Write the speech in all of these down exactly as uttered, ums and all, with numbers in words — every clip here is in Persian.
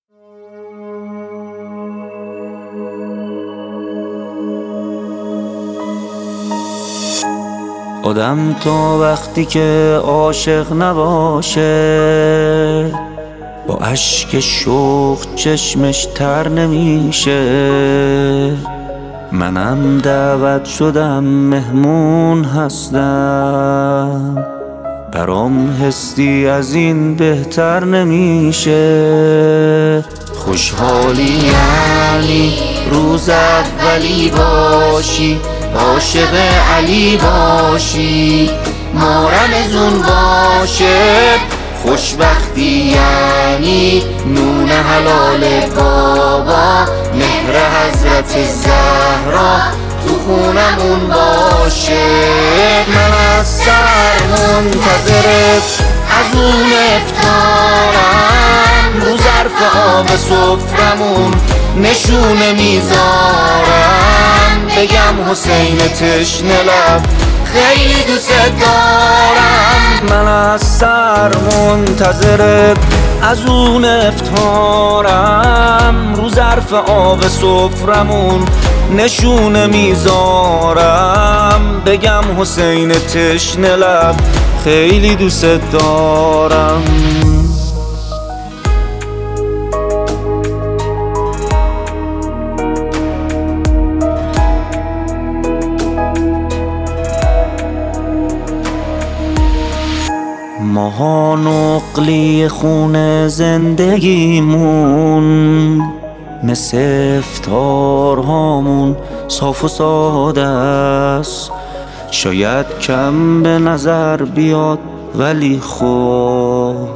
آدم تا وقتی که عاشق نباشه با اشک شوق چشمش تر نمیشه. منم دعوت شدم مهمون هستم، برام حسی از این بهتر نمیشه. خوشحالی یعنی روز اولی باشی، عاشق علی باشی، مارمزون باشه. خوشبختی یعنی نون حلال بابا، مهر حضرت زهرا تو خونمون باشه. من از سر منتظرت از اون افطارم، رو ظرف آب سفرمون نشونه میذارم، بگم حسین تشنه لب خیلی دوست دارم. من از سر منتظرت از اون افطارم، رو ظرف آب سفرمون نشونه میذارم، بگم حسین تشنه لب خیلی دوست دارم. ماها نقلی خون زندگیمون، مثل افطارهامون صاف و ساده است. شاید کم به نظر بیاد ولی خب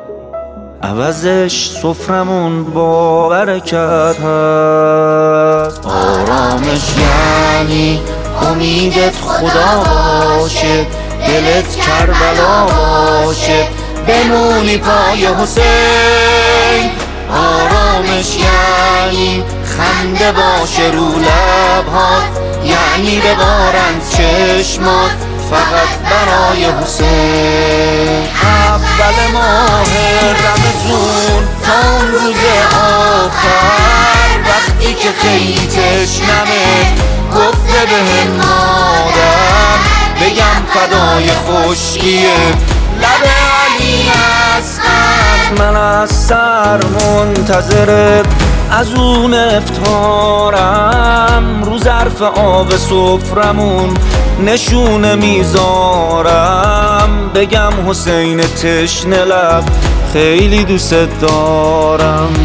عوضش سفرمون با برکت هست. آرامش یعنی امیدت خدا باشه، دلت کربلا باشه، بمونی پای حسین. آرامش یعنی خنده باشه رو لبهات، یعنی ببارند چشمات فقط برای حسین. اول ماه رمضان تا اون روز آخر، وقتی که خیلی تشنمه گفته بهم مادر، بگم فدای خشکیه لب علی هستم. من از سر منتظرت از اون افطارم، رو ظرف آب سفرمون نشونه میذارم، بگم حسین تشنه لب خیلی دوست دارم.